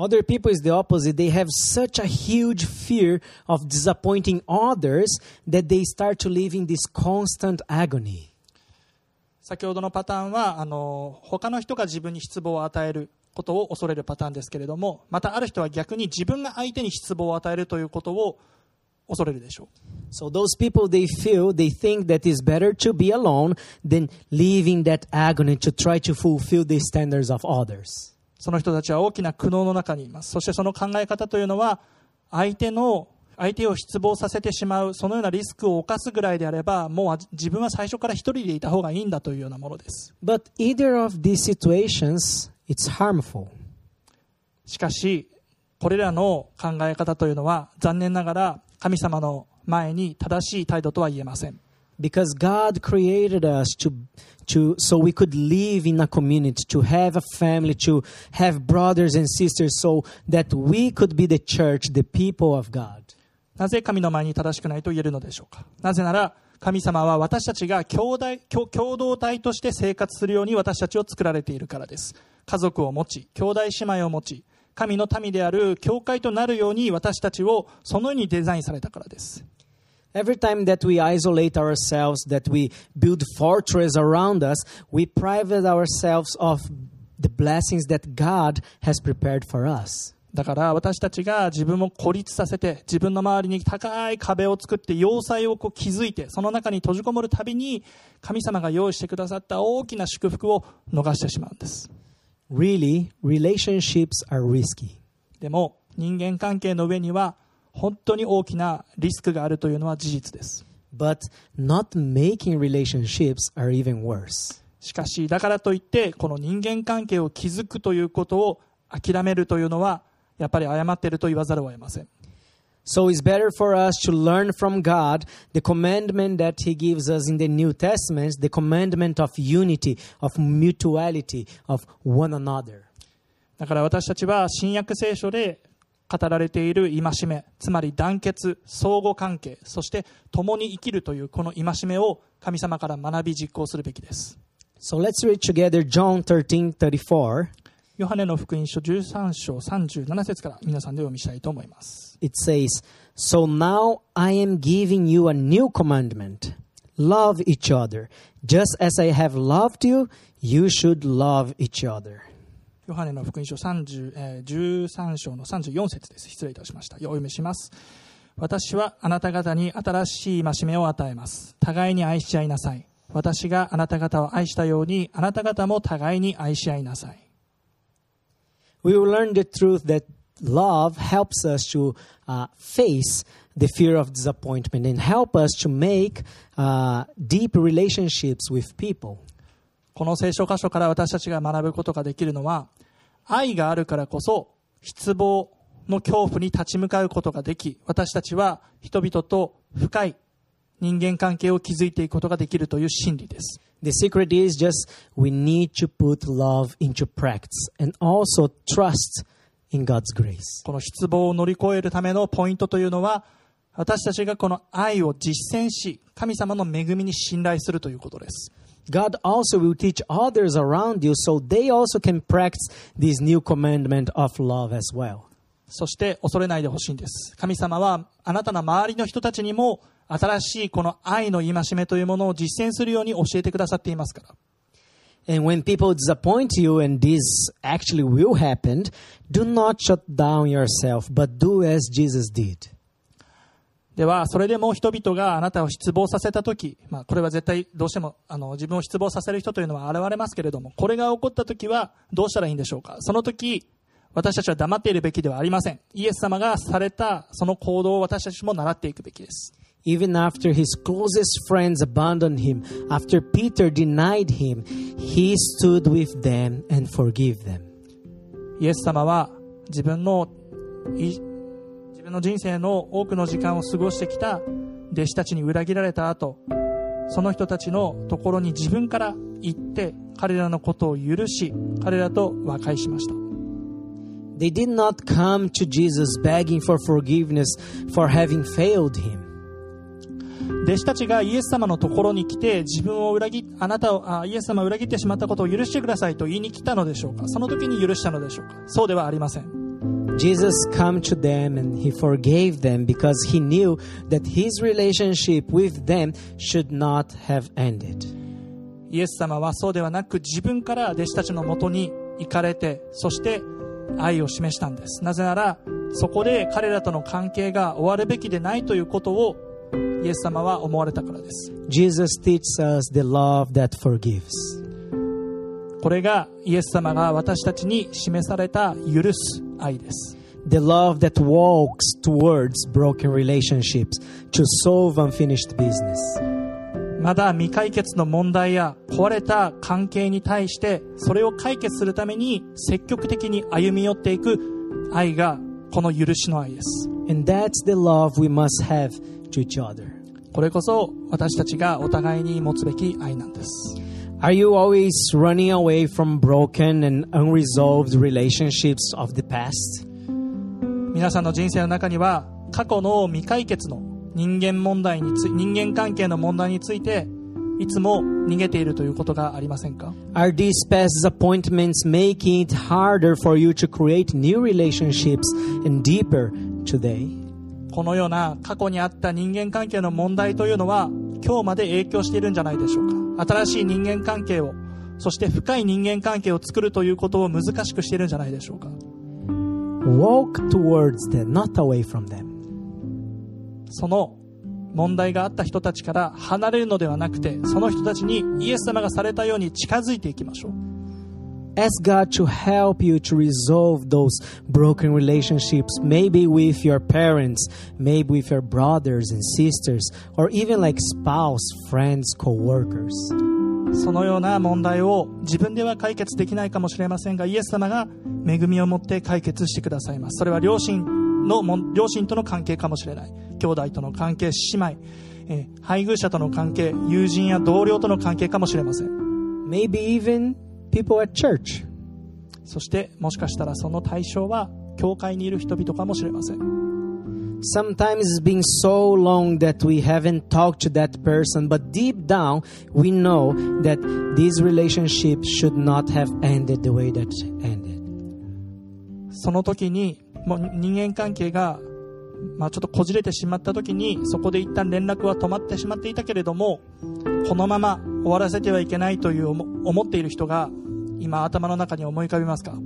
Speaker 1: Other people is the opposite. They have such a huge fear of disappointing others that they start to live in this constant agony.
Speaker 2: 先ほどのパターンはあの他の人が自分に失望を与えることを恐れるパターンですけれども、またある人は逆に自分が相手に失望を与えるということを恐れるでしょう。
Speaker 1: So those people, they feel, they think that it's better to be alone than live in that agony to try to fulfill the standards of others.
Speaker 2: その人たちは大きな苦悩の中にいます。そしてその考え方というのは、相手の相手を失望させてしまう、そのようなリスクを冒すぐらいであれば、もう自分は最初から一人でいた方がいいんだというようなものです。
Speaker 1: But either of these situations, it's harmful.
Speaker 2: しかしこれらの考え方というのは残念ながら神様の前に正しい態度とは言えません。
Speaker 1: Because God created us to, to, so we could live in a community, to have a family, to have brothers and sisters, so that we could be the church, the people of God.
Speaker 2: なぜ神の前に正しくないと言えるのでしょうか。なぜなら神様は私たちが兄弟、共同体として生活するように私たちを作られているからです。家族を持ち、兄弟姉妹を持ち、神の民である教会となるように私たちをそのようにデザインされたからです。
Speaker 1: Every time that we isolate ourselves, that we build fortress around us, we private ourselves of the blessings that God has prepared for us.
Speaker 2: だから私たちが自分を孤立させて、自分の周りに高い壁を作って要塞をこう築いて、その中に閉じこもるたびに神様が用意してくださった大きな祝福を逃してしまうんです。
Speaker 1: Really, relationships are risky.
Speaker 2: でも人間関係の上には本当に大きなリスクがあるというのは事実です。
Speaker 1: But not making relationships are even worse.
Speaker 2: しかしだからといってこの人間関係を築くということを諦めるというのはやっぱり誤っていると言わざるを得ません。
Speaker 1: So it's better for us to learn from God the commandment that He gives us in the New Testament, the commandment of unity, of mutuality, of one another.
Speaker 2: だから私たちは新約聖書で語られている戒め、つまり団結、相互関係、そして共に生きるというこの戒めを神様から学び実行するべきです。
Speaker 1: So let's read together John thirteen thirty-four.
Speaker 2: ヨハネの福音書じゅうさん章さんじゅうなな節から皆さんで読みしたいと思います。
Speaker 1: It says, So now I am giving you a new commandment. Love each other. Just as I have loved you, you should love each other.
Speaker 2: ヨハネの福音書さんじゅう、えー、じゅうさん章のさんじゅうよん節です。失礼いたしました。お読みします。私はあなた方に新しい戒めを与えます。互いに愛し合いなさい。私があなた方を愛したようにあなた方も互いに愛し合いなさい。
Speaker 1: We will learn the truth that love helps us to uh, face the fear of disappointment and help us to make uh, deep relationships with people.
Speaker 2: この聖書箇所から私たちが学ぶことができるのは、愛があるからこそ失望の恐怖に立ち向かうことができ、私たちは人々と深い人間関係を築いていくことができるという真理です。
Speaker 1: The secret is just we need to put love into practice and also trust in God's grace.
Speaker 2: この失望を乗り越えるためのポイントというのは、私たちがこの愛を実践し、神様の恵みに信頼するということです。
Speaker 1: God also will teach others around you so they also can practice this new commandment of love as well.
Speaker 2: そして恐れないでほしいんです。神様はあなたの周りの人たちにも新しいこの愛の戒めというものを実践するように教えてくださっていますから。
Speaker 1: And when people disappoint you, and this actually will happen, do not shut down yourself, but do as Jesus did.
Speaker 2: ではそれでも人々があなたを失望させたとき、まあ、これは絶対どうしてもあの自分を失望させる人というのは現れますけれども、これが起こったときはどうしたらいいんでしょうか。その時私たちは黙っているべきではありません。イエス様がされたその行動を私たちも習っていくべきです。
Speaker 1: Even after his closest friends abandoned him, after Peter denied him, he stood with them and forgave them.
Speaker 2: イエス様は自分の自分の人生の多くの時間を過ごしてきた弟子たちに裏切られた後、その人たちのところに自分から行って彼らのことを許し、彼らと和解しました。
Speaker 1: They did not come to Jesus begging for forgiveness for having failed him.
Speaker 2: 弟子たちがイエス様のところに来て自分を裏切あなたをあイエス様を裏切ってしまったことを許してくださいと言いに来たのでしょうか。その時に許したのでしょうか。そうではありません。
Speaker 1: Jesus came to them and he forgave them because he knew that his relationship with them should not have ended.
Speaker 2: イエス様はそうではなく、自分から弟子たちのもとに行かれて、そして愛を示したんです。なぜなら、そこで彼らとの関係が終わるべきでないということをイエス様は思われたからです。
Speaker 1: Jesus teaches us the love that forgives.
Speaker 2: これがイエス様が私たちに示された許す愛です。
Speaker 1: The love that walks towards broken relationships to solve unfinished business.
Speaker 2: まだ未解決の問題や壊れた関係に対してそれを解決するために積極的に歩み寄っていく愛がこの許しの愛です。
Speaker 1: And that's the love we must have to each other.
Speaker 2: これこそ私たちがお互いに持つべき愛なんです。
Speaker 1: Are you always running away from broken and unresolved relationships of the past?
Speaker 2: 皆さんの人生の中には過去の未解決の人間問題につい人間関係の問題についていつも逃げているということがありませんか？
Speaker 1: Are these past disappointments making it harder for you to create new relationships and deeper today?
Speaker 2: このような過去にあった人間関係の問題というのは今日まで影響しているんじゃないでしょうか。新しい人間関係を、そして深い人間関係を作るということを難しくしているんじゃないでしょうか。
Speaker 1: Walk towards them, not away from them.
Speaker 2: その問題があった人たちから離れるのではなくて、その人たちにイエス様がされたように近づいていきましょう。
Speaker 1: Ask God to help you to resolve those broken relationships, maybe with your parents, maybe with your brothers and sisters, or even like spouse, friends, co-workers.
Speaker 2: そのような問題を自分では解決できないかもしれませんが、イエス様が恵みを持って解決してくださいます。それは両親の両親との関係かもしれない。兄弟との関係、姉妹、えー、配偶者との関係、友人や同僚との関係かもしれません。
Speaker 1: Maybe even people at church.
Speaker 2: そしてもしかしたらその対象は教会にいる人々かもしれません。
Speaker 1: Sometimes it's been so long that we haven't talked to that person, but deep down we know that these relationships should not have ended the way that ended.
Speaker 2: その時にもう人間関係がまあちょっとこじれてしまった時にそこで一旦連絡は止まってしまっていたけれども、このまま終わらせてはいけないという思っている人が今頭の中に思い浮かびますか？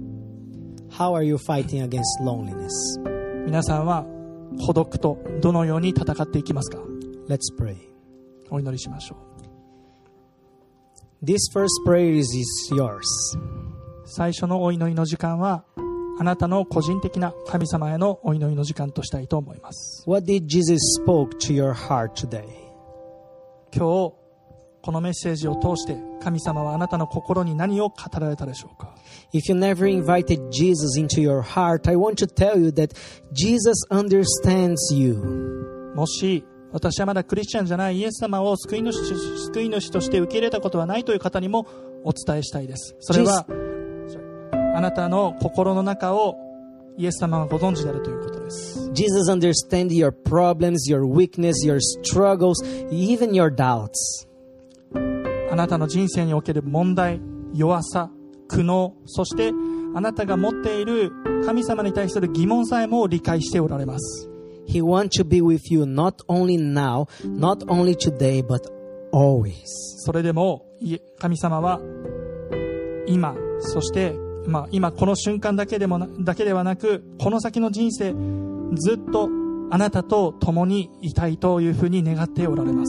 Speaker 1: How are you fighting against loneliness?
Speaker 2: 皆さんは孤独とどのように戦っていきますか？
Speaker 1: Let's pray.
Speaker 2: お祈りしましょ
Speaker 1: う。This first prayer is yours.
Speaker 2: 最初のお祈りの時間はあなたの個人的な神様へのお祈りの時間としたいと思います。
Speaker 1: What did Jesus spoke to your heart today?
Speaker 2: 今日このメッセージを通して神様はあなたの心に何を語られたでしょうか？
Speaker 1: If you never invited Jesus into your heart, I want to tell you that Jesus understands you.
Speaker 2: もし私はまだクリスチャンじゃないイエス様を救い主、救い主として受け入れたことはないという方にもお伝えしたいです。それはあなたの心の中をイエス様がご存知であるということです。
Speaker 1: Jesus understands your problems, your weakness, your struggles, even your doubts.
Speaker 2: あなたの人生における問題、弱さ、苦悩、そしてあなたが持っている神様に対する疑問さえも理解しておられます。
Speaker 1: He wants to be with you not only now, not only today, but always. そ
Speaker 2: れでも神様は今、そしてまあ、今この瞬間だけでもな、だけではなくこの先の人生ずっとあなたと共にいたいというふうに願っておられます。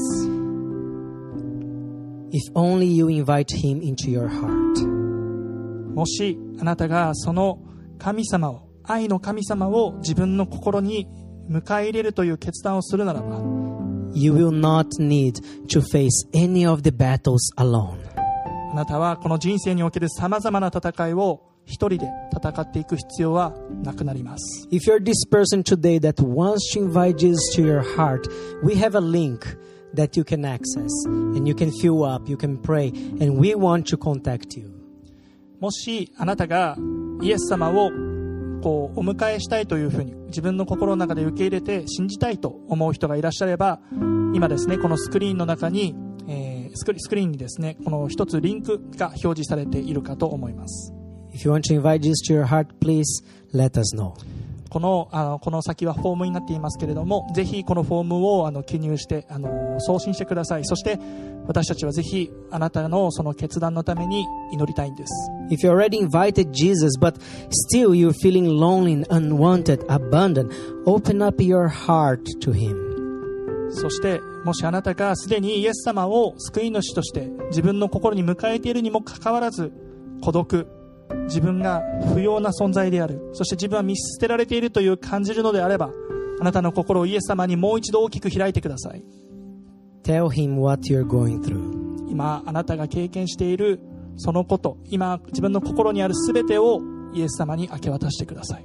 Speaker 1: If only you invite him into your heart.
Speaker 2: もしあなたがその神様を、愛の神様を自分の心に迎え入れるという決断をするならば
Speaker 1: You will not need to face any of the battles alone.
Speaker 2: あなたはこの人生におけるさまざまな戦いを一人で戦っていく必要はなくなります。
Speaker 1: If you're this person today that wants to invite Jesus to your heart, we have a link that you can access and you can fill up, you can pray, and we want to contact you.
Speaker 2: もしあなたがイエス様をこうお迎えしたいというふうに自分の心の中で受け入れて信じたいと思う人がいらっしゃれば、今ですねこのスクリーンの中にスクリーンにですねこの一つリンクが表示されているかと思います。
Speaker 1: If you want to invite Jesus to your heart, please let us know.
Speaker 2: この、あの、この先はフォームになっていますけれども、ぜひこのフォームをあの記入して、あの、送信してください。そして、私たちはぜひあなたのその決断のために祈りたいんです。
Speaker 1: If you already invited Jesus, but still you're feeling lonely, unwanted, abandoned, open up your heart to Him.
Speaker 2: そして、もしあなたがすでにイエス様を救い主として自分の心に迎えているにもかかわらず、孤独、自分が不要な存在である、そして自分は見捨てられているという感じるのであれば、あなたの心をイエス様にもう一度大きく開いてください。
Speaker 1: Tell Him what you're going through.
Speaker 2: 今あなたが経験しているそのこと、今自分の心にあるすべてをイエス様に明け渡してください。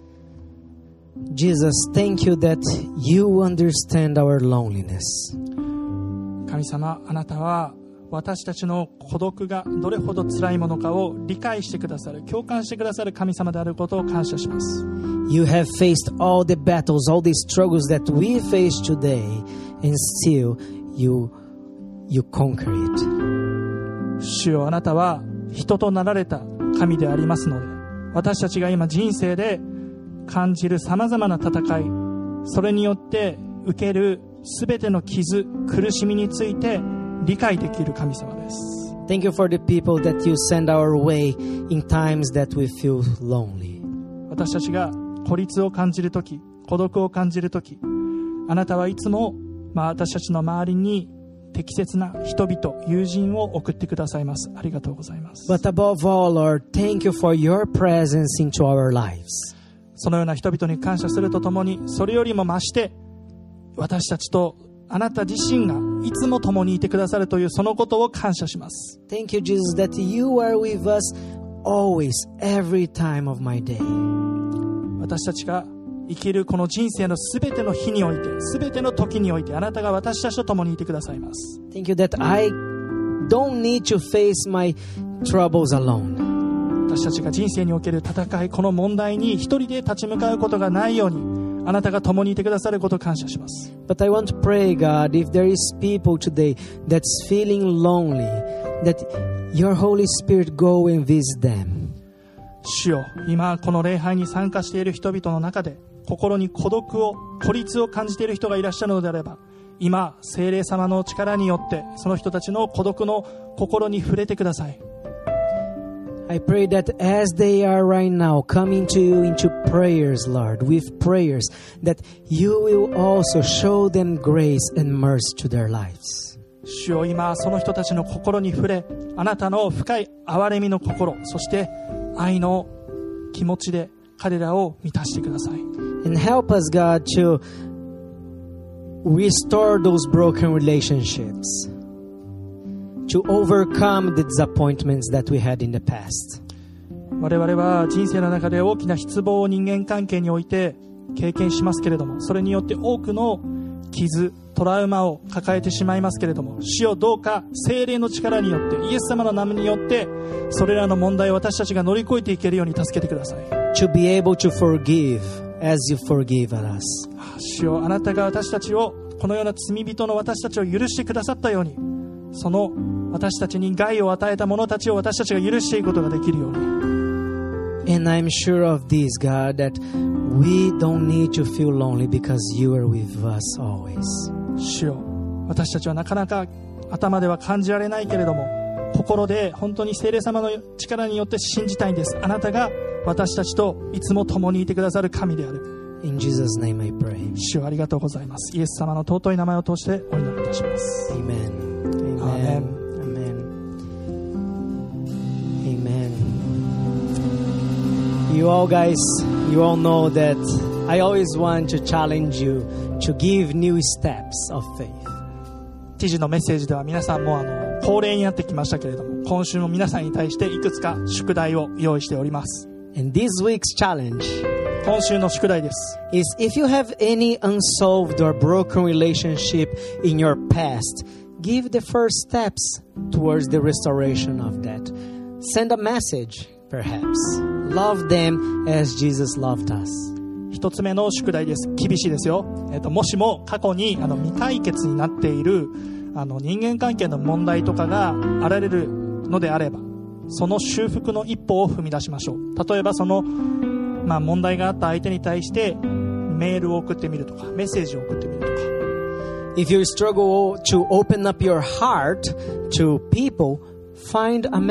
Speaker 1: Jesus, thank you that you understand our loneliness.
Speaker 2: 神様、あなたは私たちの孤独がどれほど辛いものかを理解してくださる、共感してくださる神様であることを感謝します。
Speaker 1: You have faced all the battles, all the struggles that we face today, and still you, you conquer it.
Speaker 2: 主よ、あなたは人となられた神でありますので、私たちが今人生で感じるさまざまな戦い、それによって受けるすべての傷、苦しみについて理解できる神様です。
Speaker 1: Thank you for the people that you send our way in times that we feel lonely.
Speaker 2: 私たちが孤立を感じるとき、孤独を感じるとき、あなたはいつも、まあ、私たちの周りに適切な人々、友人を送ってくださいます。ありがとうございます。
Speaker 1: But above all, Lord, thank you for your presence into our lives.
Speaker 2: そのような人々に感謝するとともに、それよりも増して私たちとあなた自身がいつも共にいてくださるというそのことを感謝します。
Speaker 1: Thank you, Jesus, that you are with us always, every time of my day.
Speaker 2: 私たちが生きるこの人生のすべての日において、すべての時において、あなたが私たちと共にいてくださいます。
Speaker 1: Thank you that I don't need to face my troubles alone.
Speaker 2: 私たちが人生における戦い、この問題に一人で立ち向かうことがないように、あなたが共にいてくださることを感謝します。
Speaker 1: But I want to pray, God, if there is people today that's feeling lonely, that your Holy Spirit go and visit them.
Speaker 2: 主よ、今この礼拝に参加している人々の中で心に孤独を、孤立を感じている人がいらっしゃるのであれば、今聖霊様の力によってその人たちの孤独の心に触れてください。
Speaker 1: I pray that as they are right now coming to you into prayers, Lord, with prayers, that you will also show them grace and mercy to their lives.
Speaker 2: 主よ、今その人たちの心に触れ、あなたの深い憐れみの心、そして愛の気持ちで彼らを満たしてください。
Speaker 1: And help us, God, to restore those broken relationships, to overcome the disappointments that we had in the past.
Speaker 2: 我々は人生の中で大きな失望を人間関係において経験しますけれども、それによって多くの傷、トラウマを抱えてしまいますけれども、主よ、どうか聖霊の力によって、イエス様の名によってそれらの問題を私たちが乗り越えていけるように助けてください。
Speaker 1: To be able to forgive as you forgive us.
Speaker 2: 主よ、あなたが私たちを、このような罪人の私たちを許してくださったように、その私たちに害を与えた者たちを私たちが許していくことができるように。
Speaker 1: And I'm sure of this, God, that we don't need to feel lonely because you are with us always.
Speaker 2: 主よ、私たちはなかなか頭では感じられないけれども、心で本当に聖霊様の力によって信じたいんです。あなたが私たちといつも共にいてくださる神である。
Speaker 1: In Jesus' name I pray.
Speaker 2: 主よ、ありがとうございます。イエス様の尊い名前を通してお祈りいたします。
Speaker 1: Amen. Amen.
Speaker 2: Amen.
Speaker 1: Amen. You all guys, you all know that I always want to challenge you to give new steps of faith.
Speaker 2: 知事のメッセージでは皆さんもあの恒例になってきましたけれども、今週も皆さんに対していくつか宿題を用意しております。
Speaker 1: And this week's challenge
Speaker 2: 今週の宿題です。
Speaker 1: is if you have any unsolved or broken relationship in your past, give the first steps towards the restoration of that. Send a message, perhaps. Love them as Jesus loved us.
Speaker 2: 一つ目の宿題です。厳しいですよ。えっと、もしも過去にあの未解決になっているあの人間関係の問題とかがあられるのであれば、その修復の一歩を踏み出しましょう。例えばそのまあ、問題があった相手に対してメールを送ってみるとか、メッセージを送ってみるとか。
Speaker 1: If you struggle to open up your heart to people, find a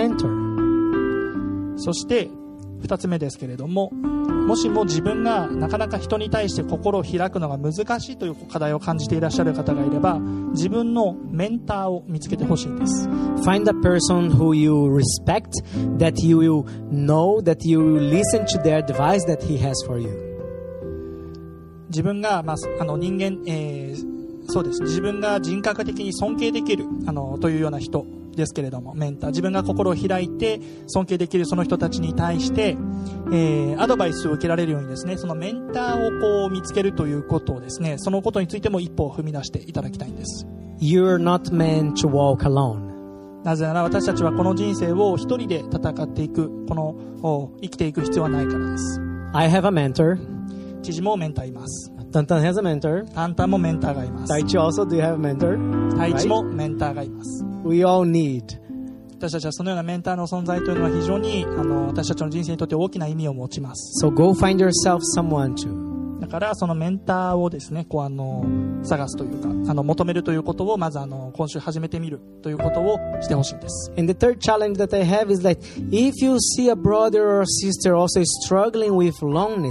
Speaker 1: mentor.
Speaker 2: そして二つ目ですけれども、もしも自分がなかなか人に対して心を開くのが難しいという課題を感じていらっしゃる方がいれば、自分のメンターを見つけてほしいんです。
Speaker 1: Find a person who you respect, that you will know, that you will listen to their advice that he has for you.
Speaker 2: 自分が、まあ、あの人間、えー、そうです。自分が人格的に尊敬できるあのというような人ですけれども、メンター、自分が心を開いて尊敬できるその人たちに対して、えー、アドバイスを受けられるようにですね、そのメンターをこう見つけるということをですね、そのことについても一歩を踏み出していただきたいんです。
Speaker 1: You're not meant to walk alone.
Speaker 2: なぜなら私たちはこの人生を一人で戦っていく、この生きていく必要はないからです。
Speaker 1: I have a mentor.
Speaker 2: 知事もメンターいます。
Speaker 1: タンタン has a mentor.
Speaker 2: タンタンもメンターがいます。
Speaker 1: タイチ also, do you have a mentor?
Speaker 2: タイチもメンターがいます。
Speaker 1: We all need.
Speaker 2: 私たちはそのようなメンターの存在というのは非常にあの私たちの人生にとって大きな意味を持ちます。
Speaker 1: So go find yourself someone to.
Speaker 2: だからそのメンターをですね、こうあの探すというか、あの求めるということをまずあの今週始めてみるということをしてほしいんです。
Speaker 1: And the third challenge that I have is that if you see a brother or sister also struggling with loneliness,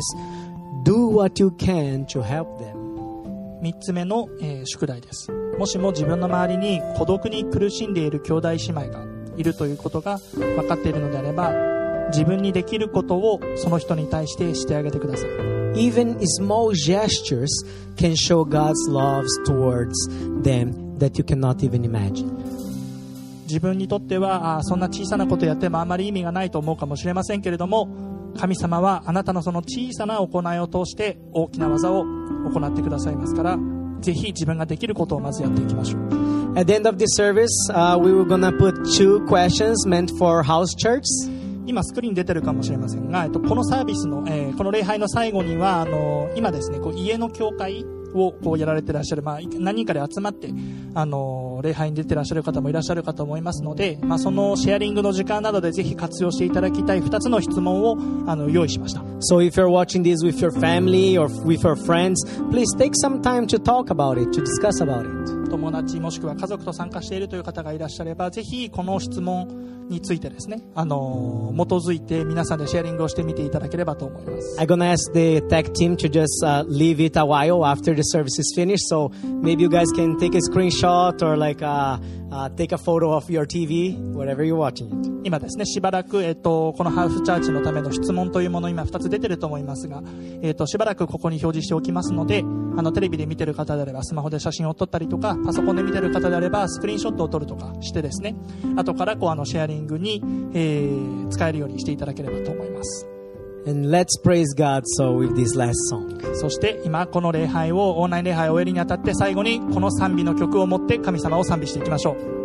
Speaker 1: do what you can to help them.
Speaker 2: 三つ目の、えー、宿題です。もしも自分の周りに孤独に苦しんでいる兄弟姉妹がいるということが分かっているのであれば、自分にできることをその人に対してしてあげてください。
Speaker 1: Even small gestures can show God's love towards them that you cannot even imagine.
Speaker 2: 自分にとってはあそんな小さなことやってもあまり意味がないと思うかもしれませんけれども、神様はあなたのその小さな行いを通して大きな技を行ってくださいますから、ぜひ自分ができることをまずやっていきましょう。
Speaker 1: At the end of this service, uh, we were gonna put two questions meant for house church.
Speaker 2: 今スクリーン出てるかもしれませんが、えっと、このサービスの、えー、この礼拝の最後にはあの今ですね、こう家の教会をこうやられてらっしゃる、まあ、何人かで集まってあの礼拝に出てらっしゃる方もいらっしゃるかと思いますので、まあ、そのシェアリングの時間などでぜひ活用していただきたいふたつの質問をあの用意しました。
Speaker 1: So if you're watching this with your family or with your friends, please take some time to talk about it, to discuss about it.
Speaker 2: 友達もしくは家族と参加しているという方がいらっしゃれば、ぜひこの質問についてですね、あの基づいて皆さんでシェアリングをしてみていただければと思います。
Speaker 1: I'm gonna ask the tech team to just uh, leave it a while after the service is finished, so maybe you guys can take a screenshot or like uh, uh, take a photo of your T V, wherever you're watching it.
Speaker 2: 今ですね、しばらく、えっと、このハウスチャーチのための質問というもの、今ふたつ出てると思いますが、えっと、しばらくここに表示しておきますので、あのテレビで見てる方であればスマホで写真を撮ったりとか、パソコンで見てる方であればスクリーンショットを撮るとかしてですね、後からこうあのシェアリングに、えー、使えるようにしていただければと思います。
Speaker 1: And let's praise God so with this last song.
Speaker 2: そして今この礼拝をオンライン礼拝を終えるにあたって、最後にこの賛美の曲を持って神様を賛美していきましょう。